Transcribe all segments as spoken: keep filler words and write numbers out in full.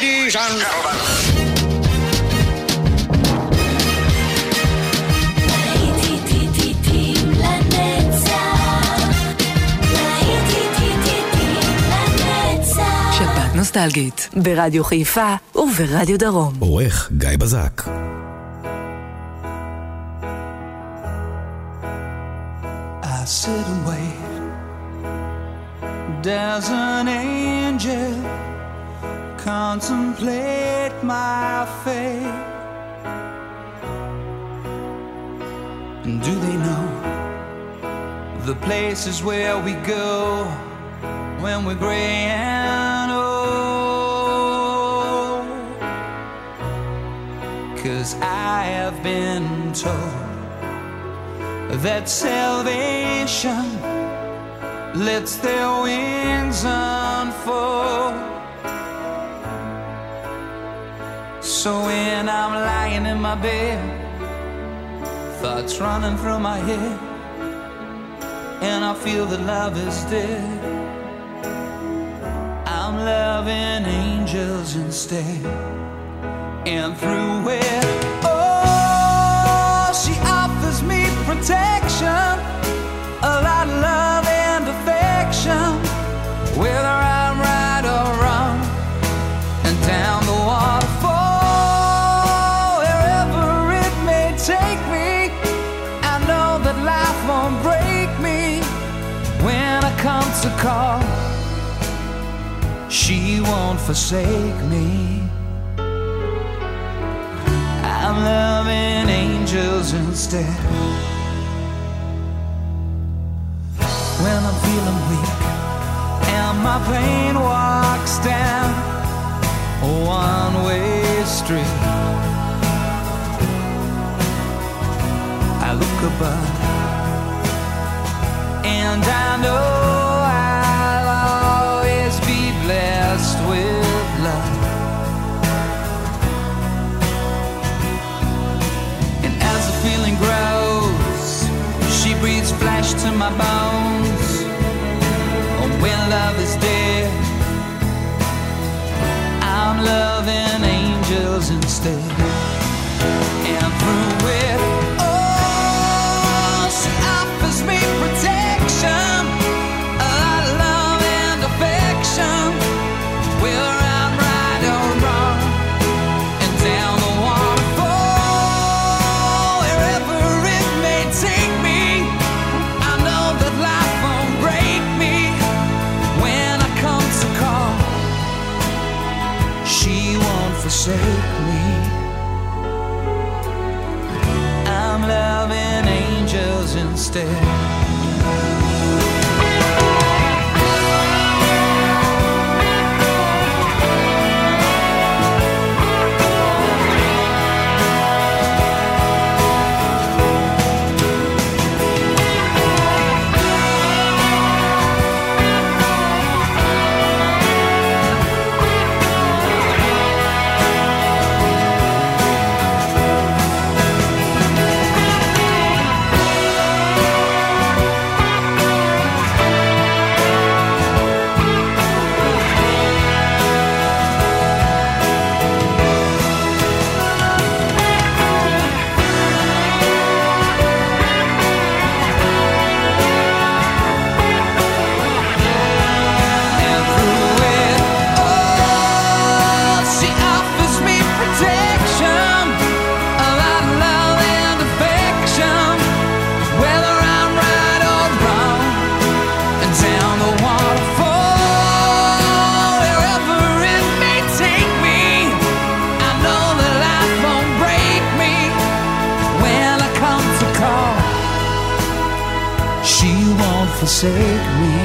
Ladies and gentlemen. שבת נוסטלגית ברדיו חיפה וברדיו דרום. עורך גיא בזק. I sit and wait. Does an angel contemplate my fate? And do they know the places where we go when we're gray and old? 'Cause I have been told that salvation lets their wings unfold. So when I'm lying in my bed, thoughts running through my head, and I feel that love is dead, I'm loving angels instead. And through it, oh, she offers me protection, a lot of love and affection, whether I'm right or wrong, and down the waterfall, wherever it may take me, I know that life won't break me when I come to call. She won't forsake me. I'm loving angels instead. When I'm feeling weak and my pain walks down a one-way street, I look above and I know I'll always be blessed with love. And as the feeling grows, she breathes flesh to my bones. And when love is dead, I'm loving angels instead. And through it, oh, she offers me protection, a lot of love and affection, whether I'm right or wrong, and down the waterfall, wherever it may take me, I know that life won't break me when I come to call. She won't forsake me. I'm loving angels instead. Forsake me.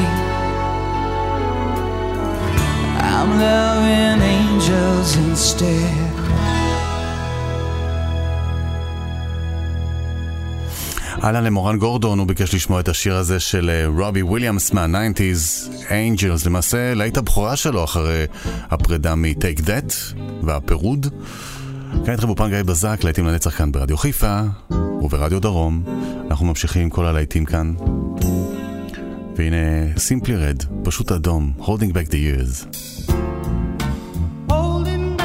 I'm loving angels instead. אהלן למורן גורדון, הוא ביקש לשמוע את השיר הזה של רובי וויליאמס מה-תשעים, Angels, למעשה להיט הבכורה שלו אחרי הפרידה מ-Take That והפירוד. כאן איתכם באופן גיא בזק, להיטים לנצח כאן ברדיו חיפה וברדיו דרום. אנחנו ממשיכים עם כל הלהיטים כאן. והנה Simply Red, פשוט אדום, Holding Back the Years. Holding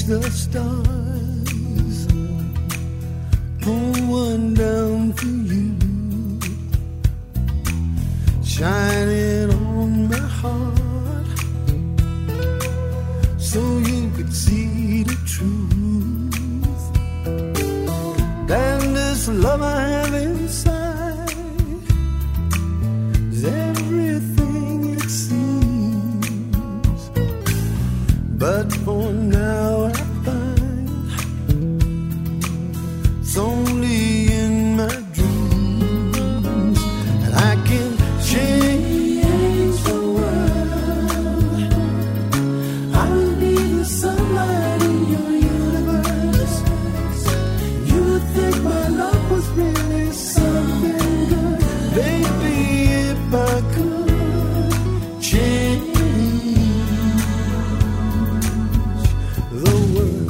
the stars, pull one down for you, shining on my heart, so you could see the truth. And this love I have inside is everything it seems, but for now I find it's only in my dreams that I can change the world. I will be the sunlight in your universe. You would think my love was really something good, baby, if I could change the world.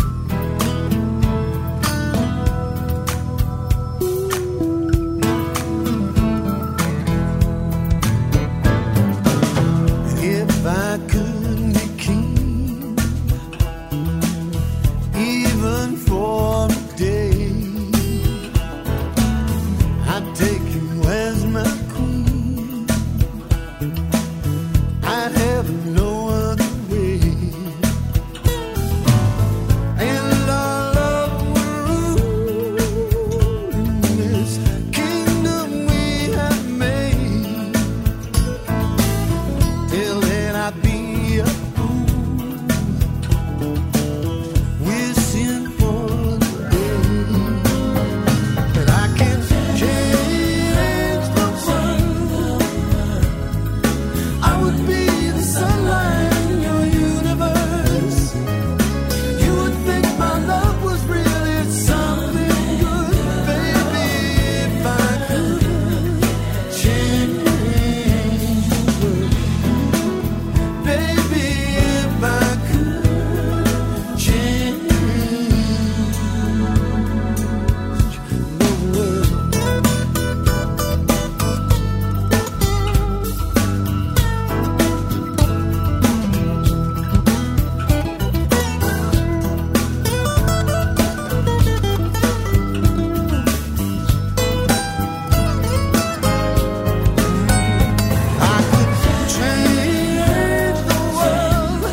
If I could be king, even for a day, I'd take you as my queen. I'd have no other way, and our love would rule in this kingdom we have made. Till then I'd be a fool, wishing for the day that I can change the world. I would be the sunlight in your universe. You would think my love was really something good, baby, if I could change the world. Baby, if I could change the world. I could change the world.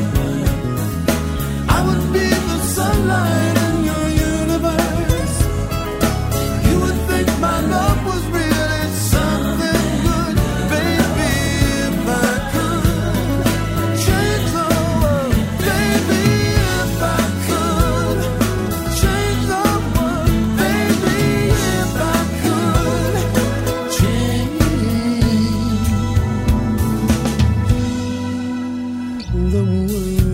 I would be the sunlight in your universe. You would think my love was really something good, baby, if I could change the world. Baby, if I could change the world. Baby, if I could change the world.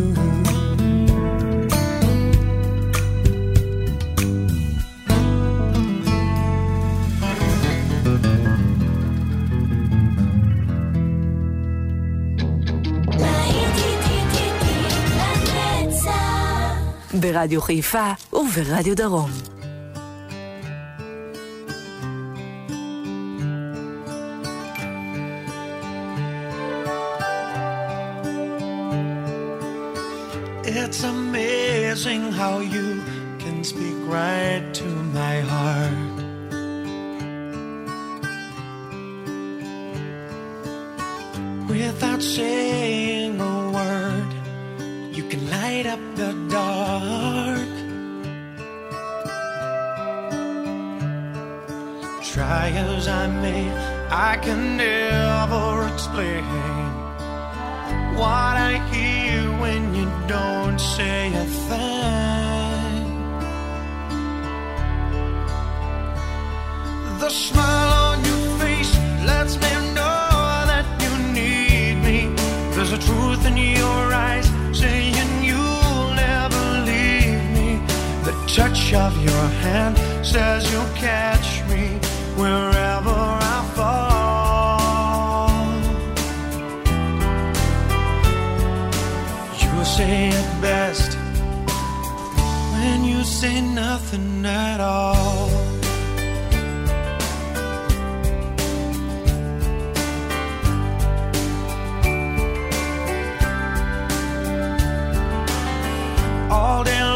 ברדיו חיפה וברדיו דרום. It's amazing how you can speak right to my heart. Without saying a word, you can light up the dark. Try as I may, I can never explain what I hear when you don't say a thing. The smile on your face lets me know that you need me. There's a truth in your eyes saying you'll never leave me. The touch of your hand says you'll catch me wherever I fall. You say it best when you say nothing at all. All day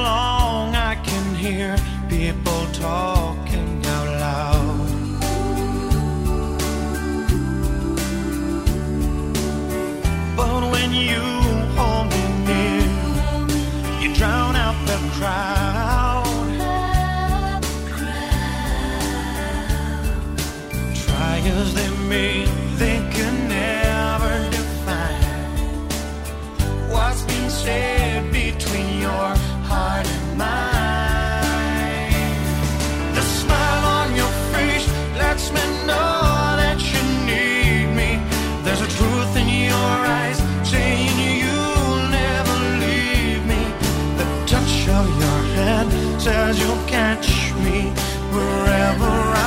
as they may, they can never define what's been said between your heart and mine. The smile on your face lets me know that you need me. There's a truth in your eyes saying you'll never leave me. The touch of your hand says you'll catch me wherever I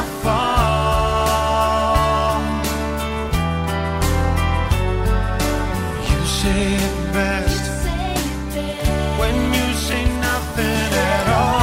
fall. You say it best when you say nothing at all.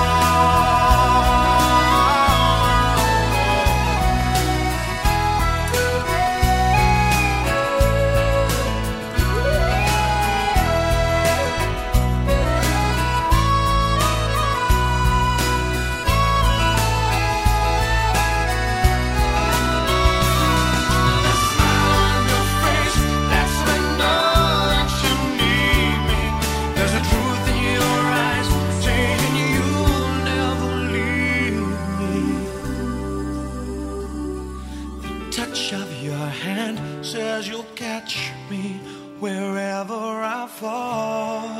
Says you'll catch me wherever I fall.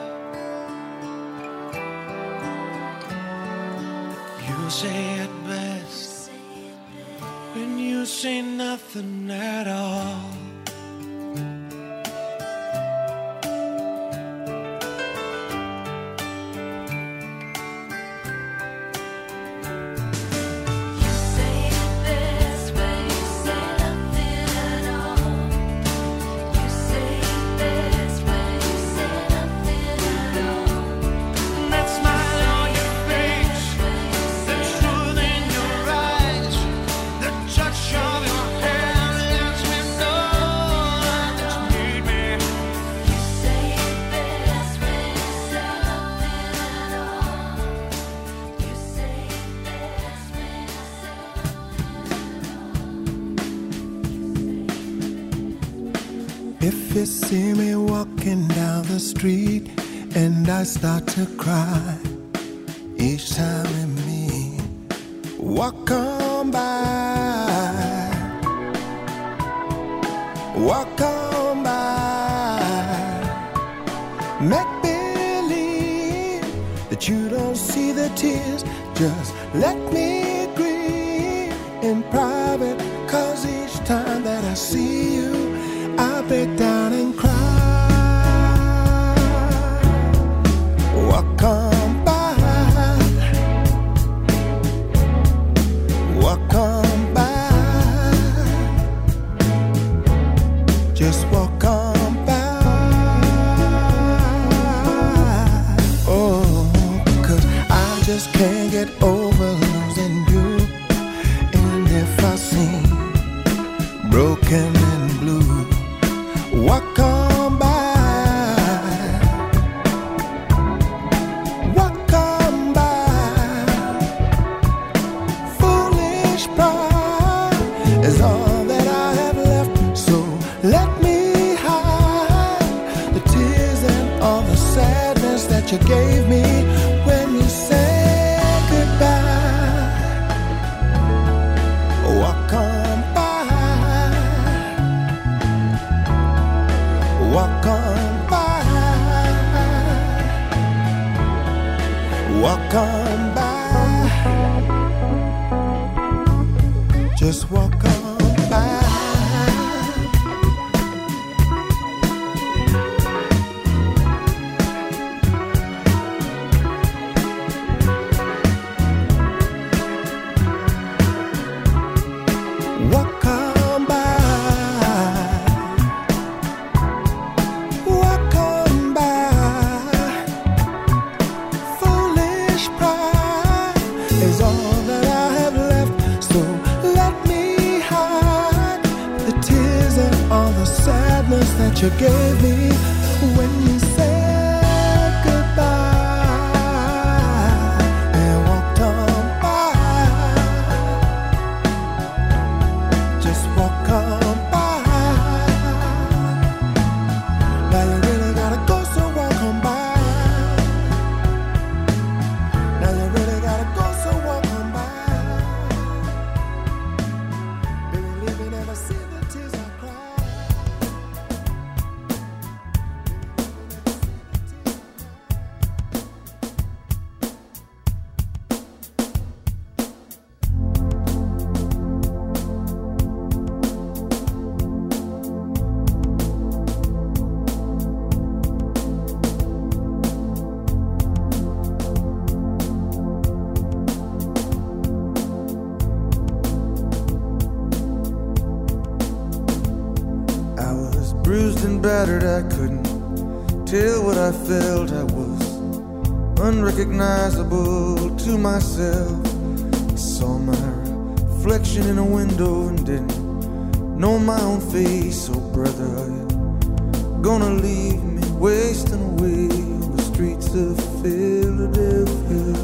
You say it best when you say nothing at all. If you see me walking down the street and I start to cry each time we meet, walk on by, walk on by, make believe that you don't see the tears, just let me grieve in private, 'cause each time that I see you I break down and cry. Walk on by, walk on by, just walk on by. Oh, 'cause I just can't get over losing you. And if I seem broken and blue, walk on by, walk on by. Foolish pride is all that I have left, so let me hide the tears and all the sadness that you gave me when you said goodbye. Walk on by, walk on by, walk on by, just walk on by. Walk on by, walk on by. Foolish pride is all that I have left, so let me hide the tears and all the sadness that you gave me when you said goodbye and walked on by. Just walk on by. Now you really gotta go, so walk on by. Now you really gotta go, so walk on by. and battered, I couldn't tell what I felt. I was unrecognizable to myself. I saw my reflection in a window and didn't know my own face. Oh brother, are you gonna leave me wasting away on the streets of Philadelphia?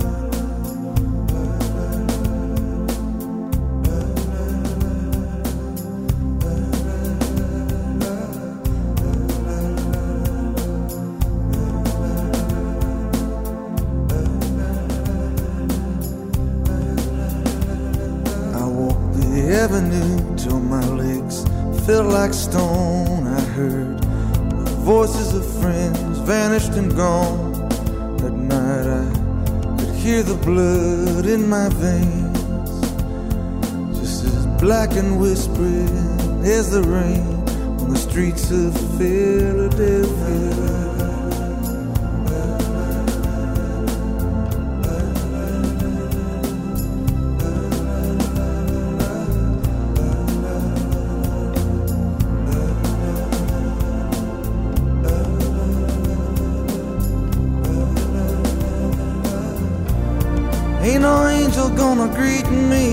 Till my legs felt like stone. I heard the voices of friends vanished and gone. That night I could hear the blood in my veins, just as black and whispering as the rain on the streets of Philadelphia. Ain't no angel gonna greet me.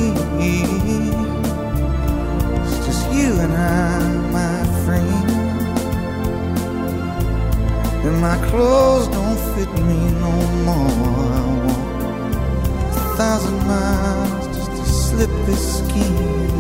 It's just you and I, my friend. And my clothes don't fit me no more. I walk a thousand miles just to slip this skin.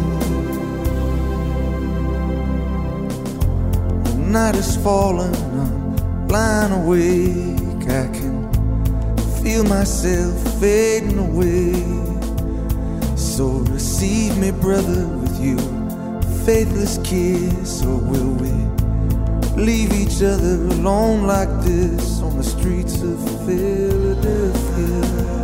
The night is falling, I'm lying awake. I can feel myself fading away. So receive me, brother, with your faithless kiss. Or will we leave each other alone like this on the streets of Philadelphia?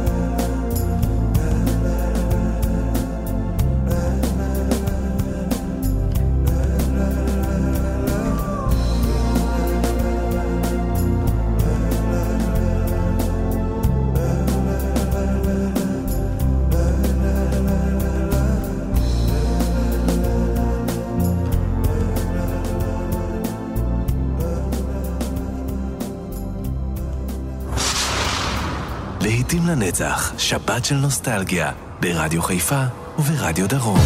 להיטים לנצח, שבת של נוסטלגיה, ברדיו חיפה וברדיו דרום.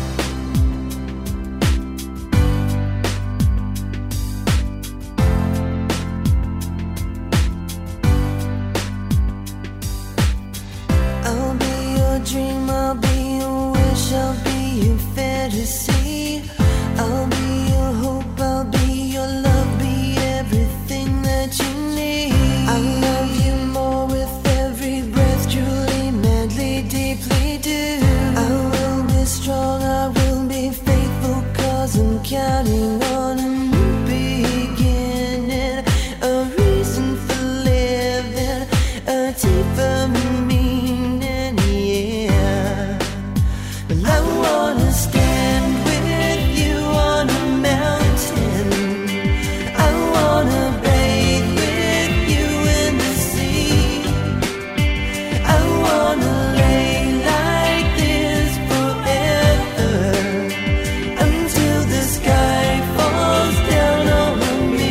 I'll be your dream, I'll be your wish, I'll be your fantasy. I'll be your hope, I'll be your love, be everything that you need. I love you more with every breath, truly, madly, deeply do. I will be strong, I will be faithful, cause I'm counting on a new beginning, a reason for living, a deeper meaning, yeah. Well, I wanna stand with you on a mountain, I wanna bathe with you in the sea, I wanna lay like this forever, until the sky falls down over me.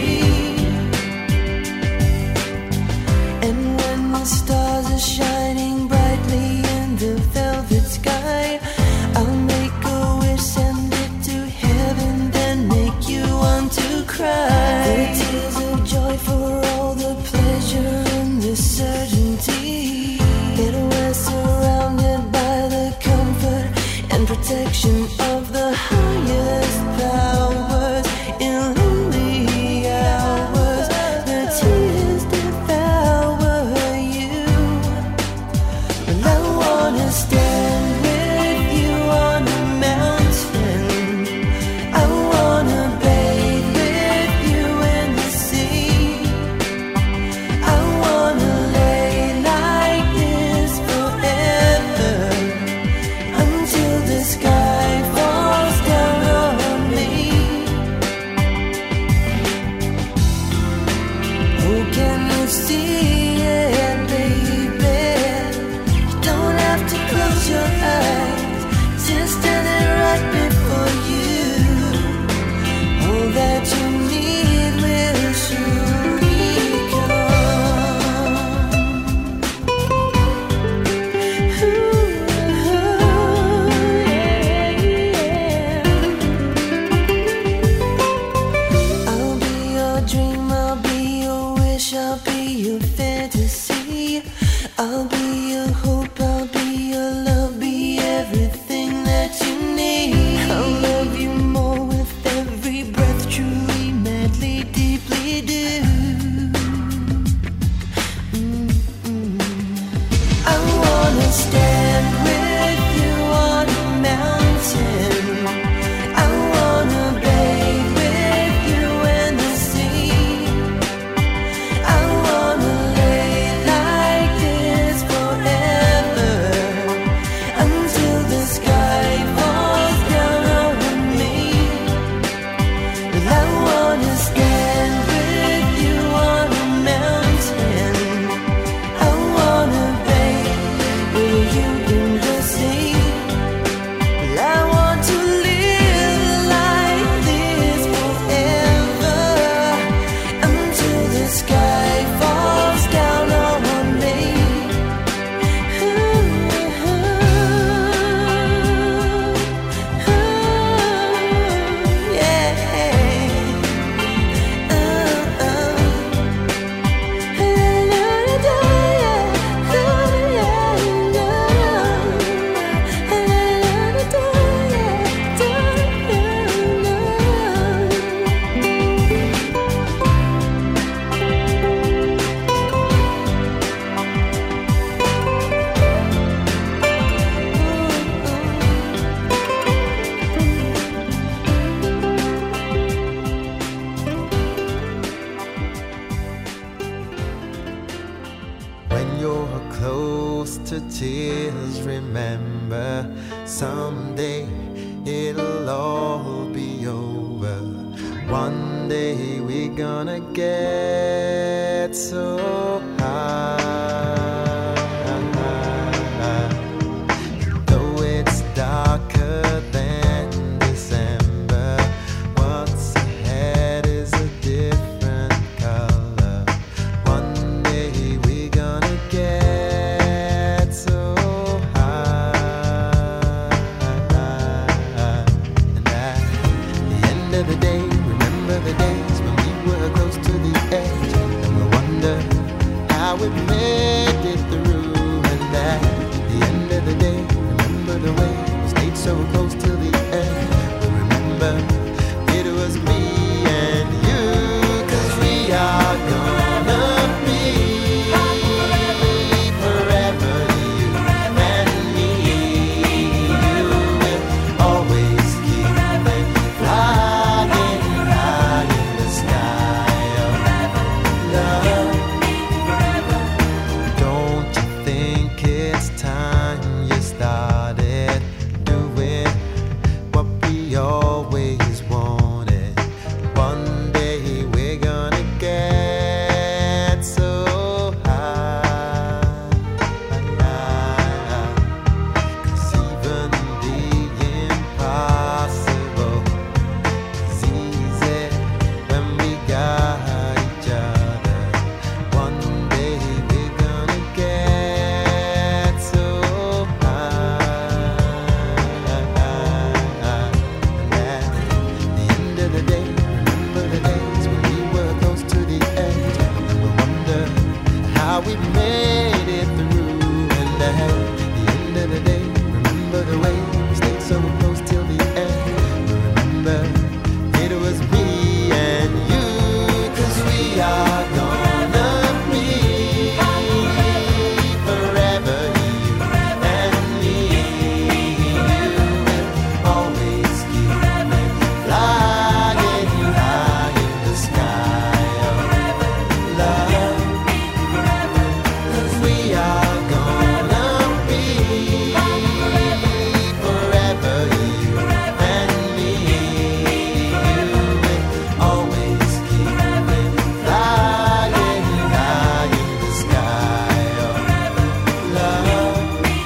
And when the stars are shining brightly in the velvet sky, I'll make a wish, send it to heaven, then make you want to cry. The tears of joy for all the pleasure and the certainty that we're surrounded by the comfort and protection of the highest powers. In lonely hours, the tears devour you. Well, I wanna stand with you on a mountain, I wanna bathe with you in the sea, I wanna lay like this forever, until the sky falls tears, remember someday it'll all be over. One day we're gonna get so high. Though it's darker than December, what's ahead is a different color. One day we're gonna get so high. And at the end of the day, remember the days when we were close to the edge, and we wonder how we made it through. And at the end of the day, remember the way we stayed so close till the end. We remember it was me and you, 'cause we are gonna be forever, you and me. You will always keep flying high in the sky of love. Don't you think it's time you started doing what we always wanted? One day we're gonna get so high. 'Cause even the impossible is easy when we got each other. One day we're gonna get so high. And at the end of the day, remember the days when we were close to the edge, and we wonder how we made it through. And at the end of the day, remember the way we stayed so close till the end. We remember it was me and you, 'cause we are gonna be forever, you and me. You will always keep flying high in the sky of love. 'Cause we are gonna be forever, you and me. You will always keep flying high in the sky of love.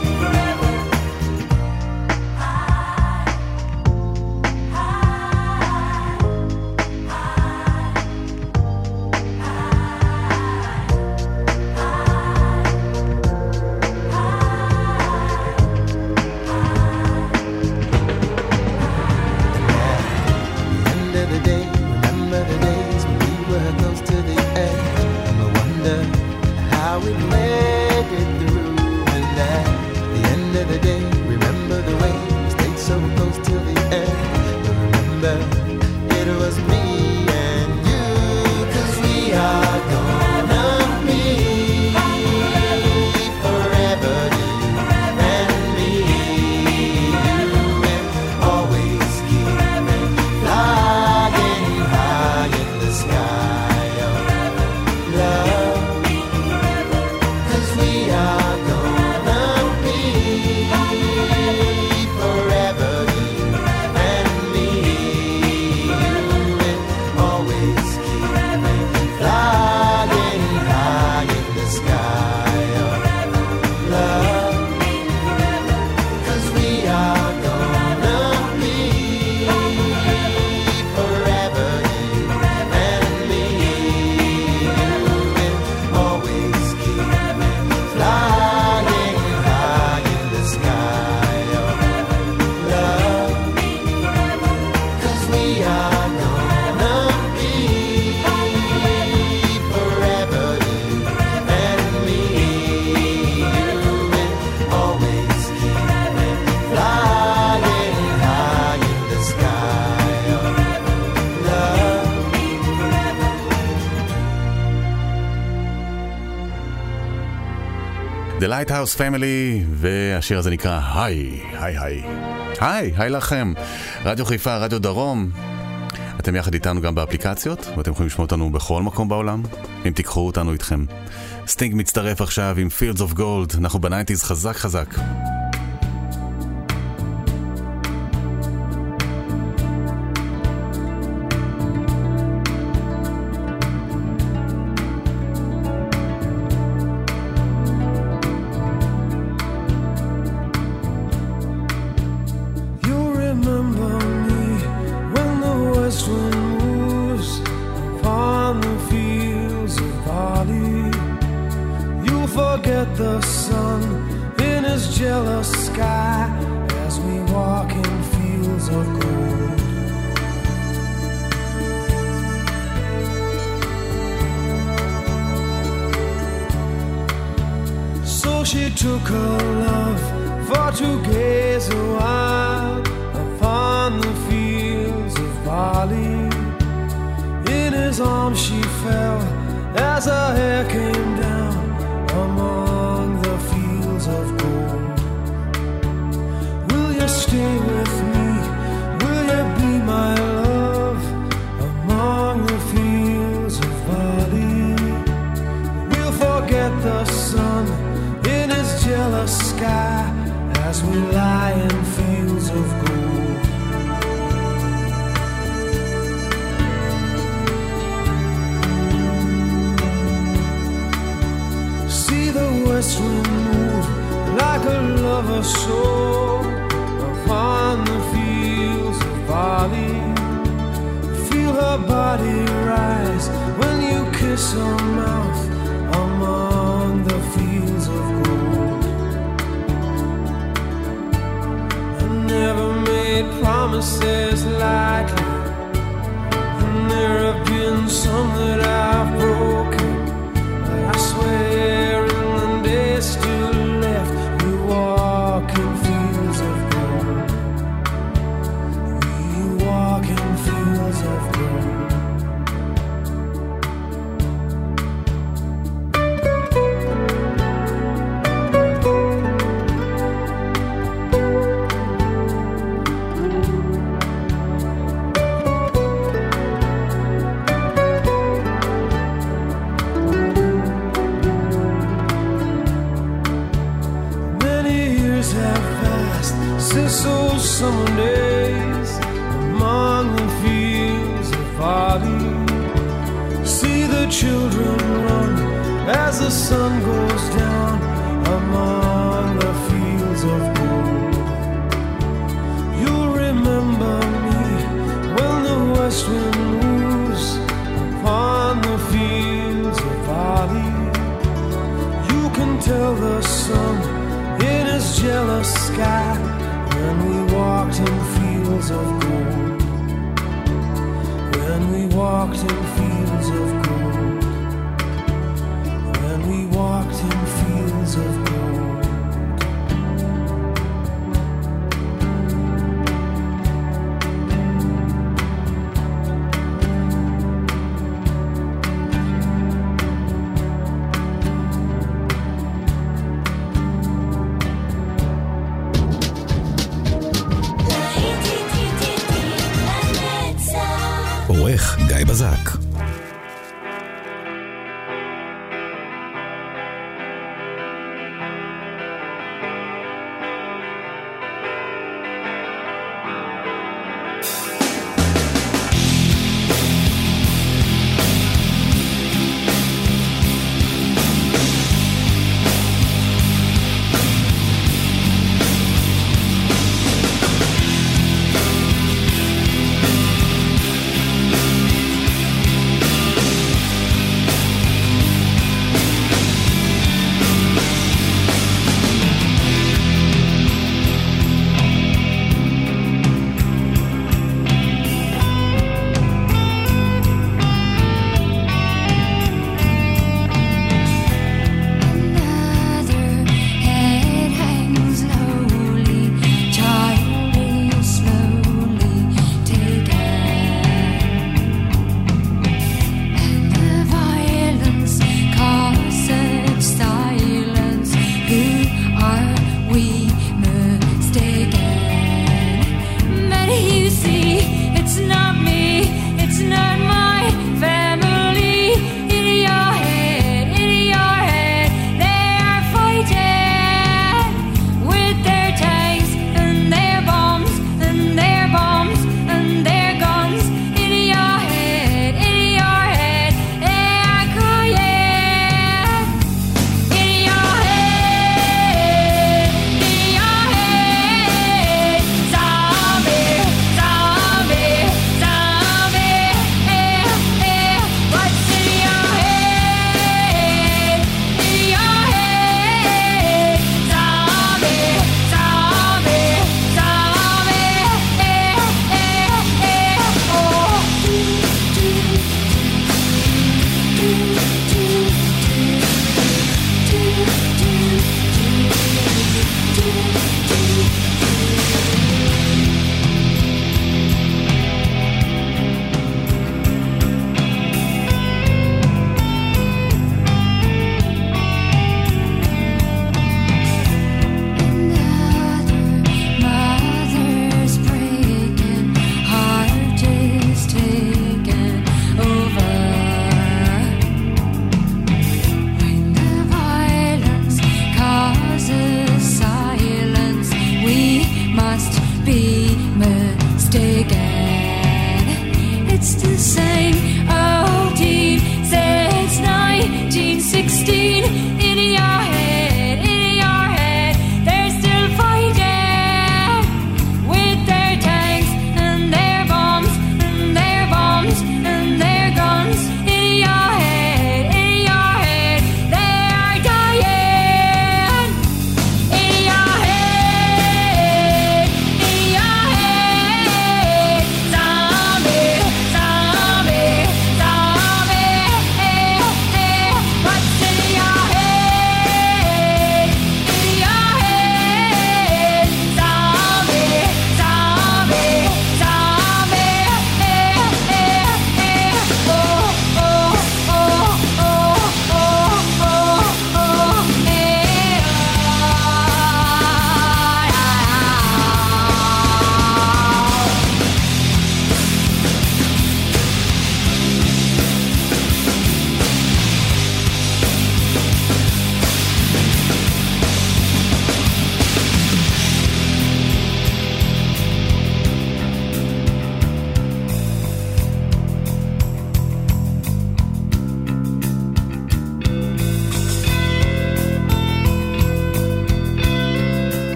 End of the day, remember the days when we were close to the edge, and we wonder how we made it through. And at the end of the day, remember the way we stayed so close till the end. We remember it was me and you, 'cause we are gonna be forever, you and me. You will always keep flying high in the sky of love. 'Cause we are gonna be forever, you and me. You will always keep flying high in the sky of love. 'Cause we are gonna be forever, you and me. You will always keep flying high in the sky of love. 'Cause we are gonna be forever, you and me. You will always keep flying high in the sky of love. The Lighthouse Family, והשיר הזה נקרא היי, היי, היי. היי, היי לכם. רדיו חיפה, רדיו דרום. אתם יחד איתנו גם באפליקציות, ואתם יכולים לשמוע אותנו בכל מקום בעולם, אם תיקחו אותנו איתכם. סטינג מצטרף עכשיו עם Fields of Gold, אנחנו בניינטיז חזק חזק. עורך גיא בזק. Thank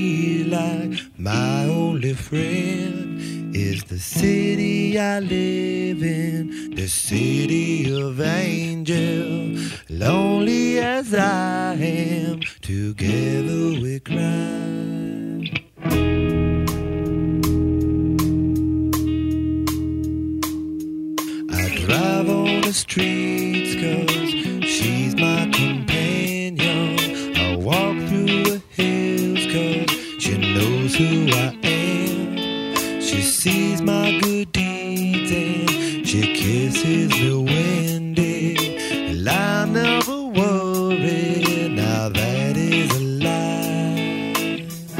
feel like my only friend is the city I live in, the city of angels. Lonely as I am, together we cry. I drive on the streets 'cause she's my companion. I walk through the hills 'cause she knows who I am. She sees my good deeds and she kisses me windy. And I never worry, now that is a lie.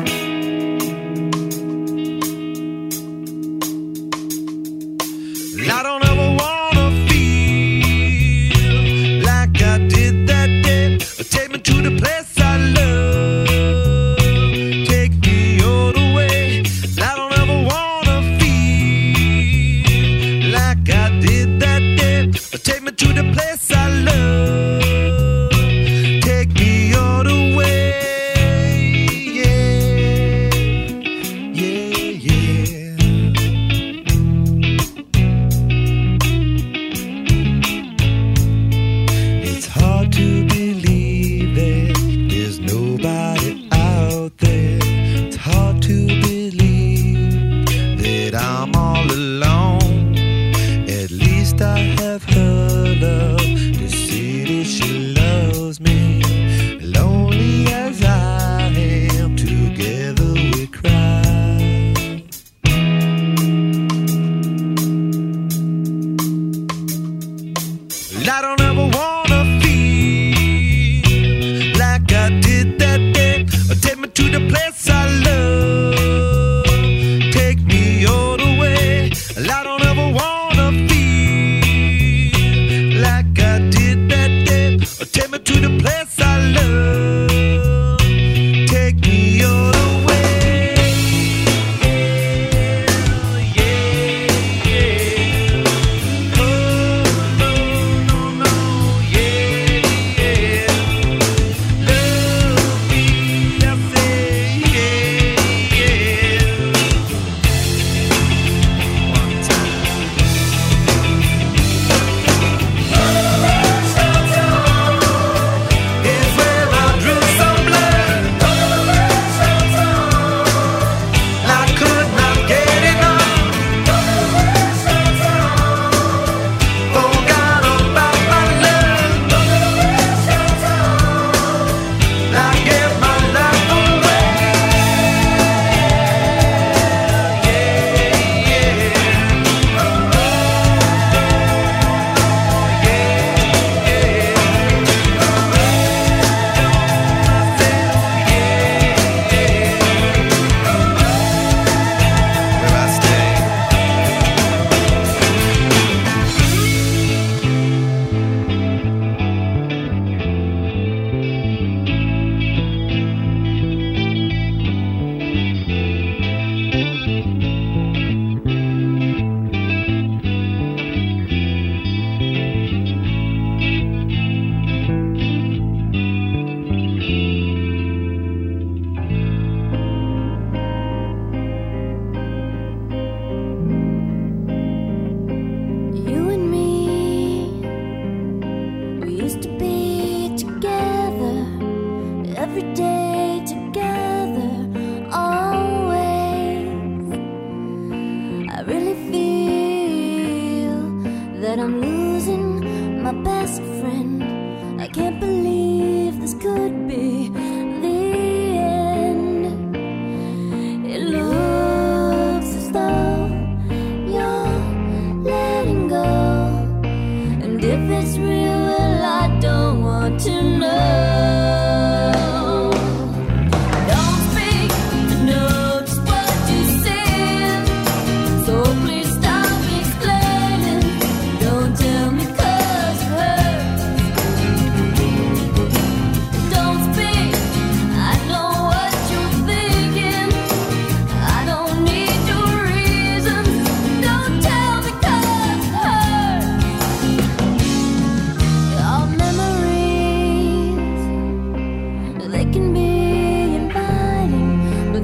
And I don't ever wanna feel like I did that day. Take me to the place I love, take me all the way. And I don't ever wanna feel like I did that day. Take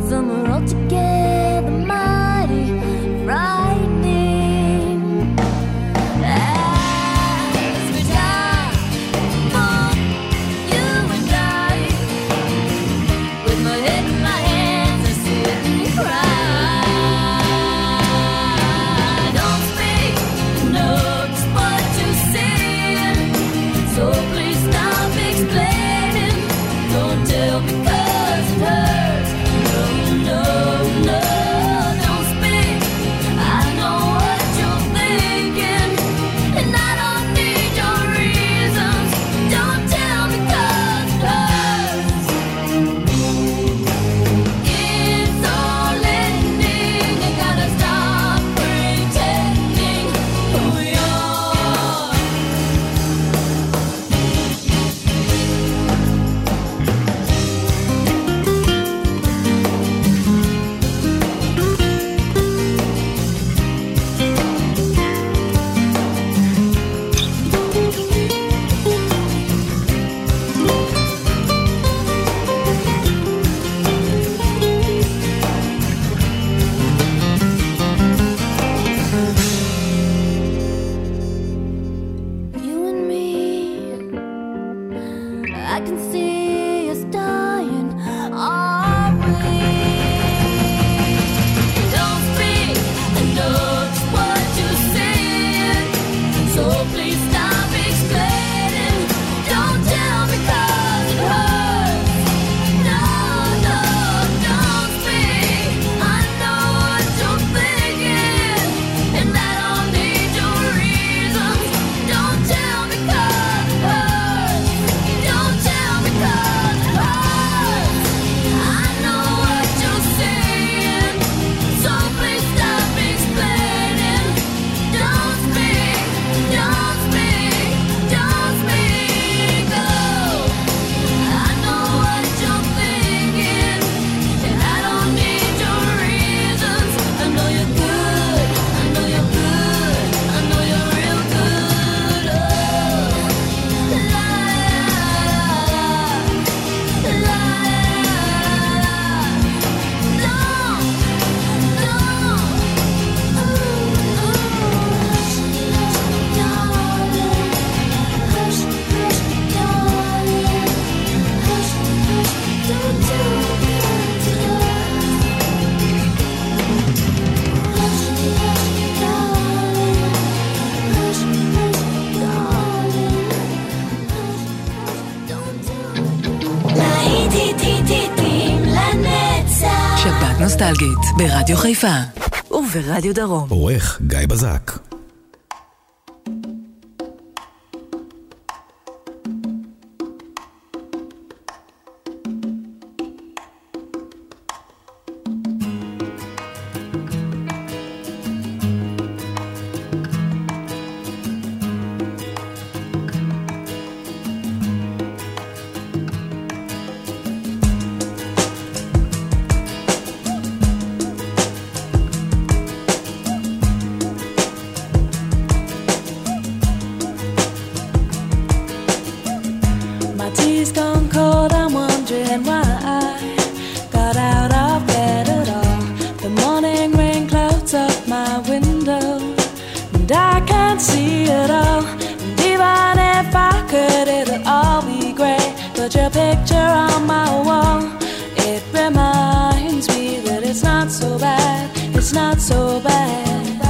Some are altogether mighty frightening. As we die for you and I, with my head in my hands, I sit and cry. Don't speak, know just what you're saying, so please stop explaining. Don't tell me 'cause it hurts. No, no, no, don't speak. I know what you're thinking, and I don't need your reasons. Don't tell me 'cause it hurts. It's all ending. You gotta stop pretending who you are. You and me, I can see us dying, are we? Don't speak, I know just what you're saying, so please stop explaining. Don't tell me 'cause it hurts. No, no, don't speak. I know what you're thinking, and I don't need your reasons. Don't tell me 'cause it hurts. Don't tell me 'cause it hurts. I know what you're saying, so please stop explaining. Don't speak, don't speak, don't speak. Oh, I know what you're thinking, and I don't need your reasons. I know you're good, I know you're good, I know you're real good. Oh, la la la la. No, no. Hush, hush, darling. Hush, hush, darling. Hush, hush, don't tell me what it hurts. Hush, hush, darling. Hush, hush, darling. Hush, hush, don't tell me. ראיתי טיטיטים לנצח. שבת נוסטלגית ברדיו חיפה וברדיו דרום. עורך גיא בזק. My tea's gone cold, I'm wondering why I got out of bed at all. The morning rain clouds up my window, and I can't see it all. And even if I could, it'll all be grey. But your picture on my wall, it reminds me that it's not so bad, it's not so bad.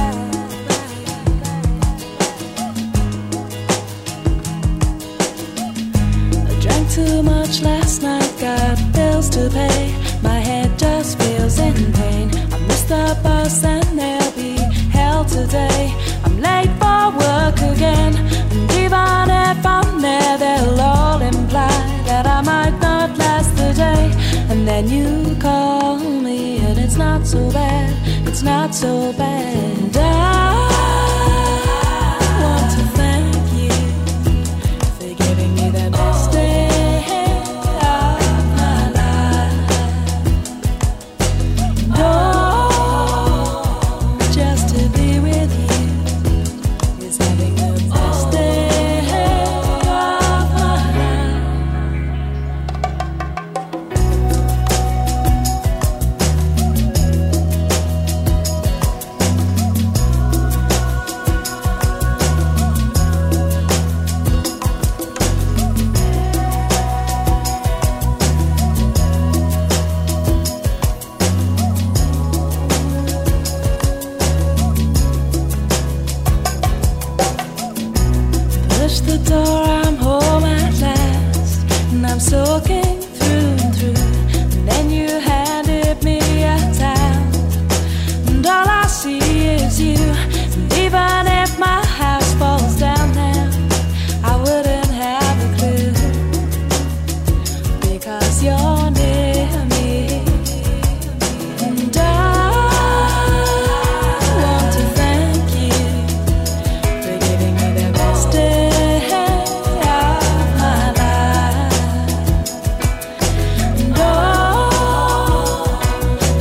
Too much last night, got bills to pay. My head just feels in pain. I missed the bus and there'll be hell today. I'm late for work again, and even if I'm there, they'll all imply that I might not last the day. And then you call me, and it's not so bad, it's not so bad. I want to thank you for giving me the best day.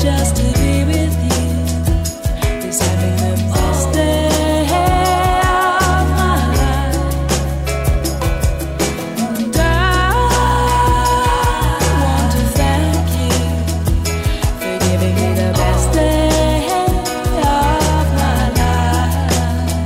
just to be with you is having the best day of my life. And I want to thank you for giving me the best day of my life.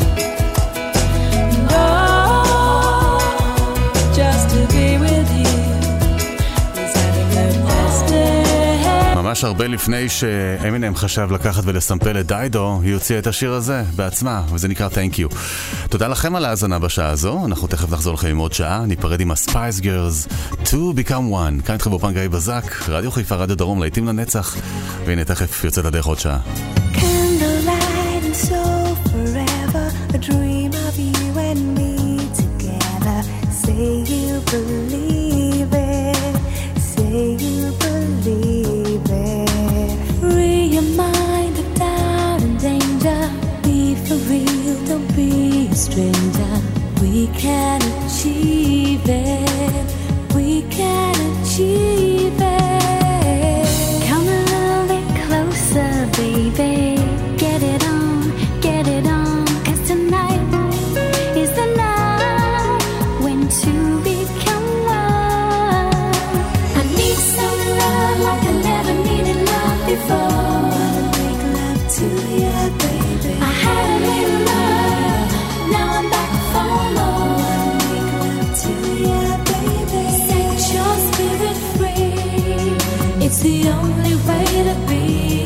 And oh, just to be with you is having the best day. ממש הרבה לפני שאמינם חשב לקחת ולסמפל את דיידו, היא הוציאה את השיר הזה בעצמה, וזה נקרא Thank You. תודה לכם על ההאזנה בשעה הזו, אנחנו תכף נחזור לכם עם עוד שעה, ניפרד עם הספייס גרלס, To Become One. כאן איתכם באופן גיא בזק, רדיו חיפה, רדיו דרום, להיטים לנצח, והנה תכף יוצאת הדרך עוד שעה. Candlelight and so forever, a dream of you and me together. Say you believe it, say you believe it. Free your mind of doubt and danger. Be for real, don't be a stranger. We can achieve it, we can achieve it. Come a little bit closer, baby. Get it on, get it on. 'Cause tonight is the night when two become one. I need some love like I never needed love before. Wanna make love to you, baby. I had a little love, now I'm back for more. Wanna make love to you, baby. Set your spirit free, it's the only way to be.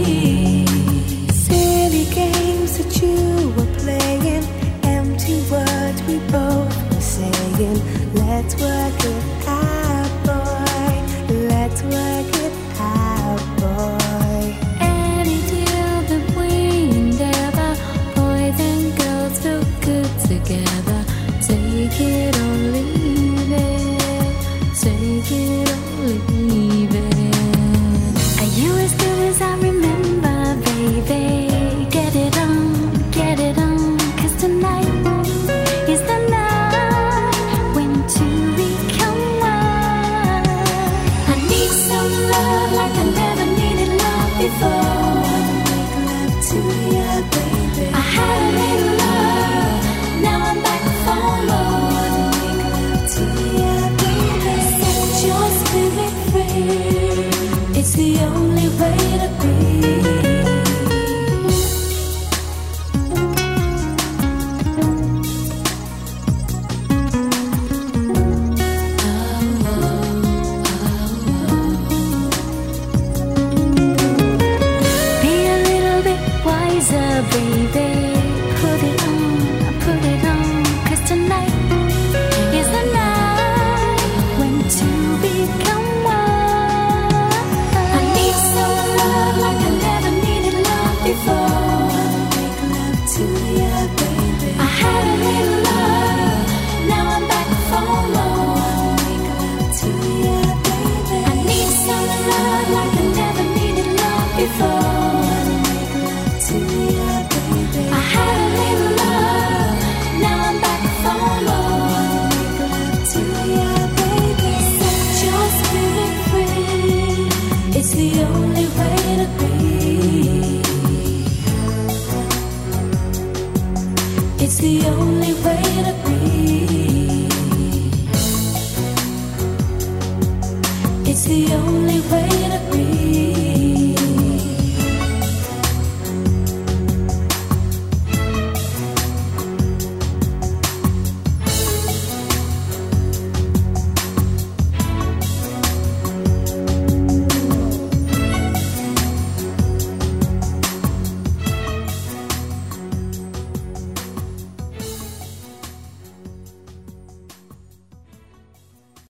Silly games that you were playing, empty words we both were saying. Let's work it out, boy. Let's work it out, boy. Any deal that we endeavor, boys and girls feel good together. Take it or leave it, take it or leave it. Are you as good as I remember, baby? Get it on, get it on. 'Cause tonight is the night when two become one. I need some love like I never needed love before. Wanna make love to you, baby. I had a little love, now I'm back for more. Wanna make love to you, baby. Set your spirit free, it's the only way to be. Be a little bit wiser, baby. Put it on, put it on. 'Cause tonight is the night when two become one. I need some love like I never needed love before. Wanna make love to you, baby. I had a little love, now I'm back for more. Wanna make love to you, baby. I need some love like I never needed love before. Wanna make love to you, baby. I had a little love, now I'm back for more. Wanna make love to you, baby. Set your spirit free, it's the only way to be. It's the only way to be. It's the only way to be.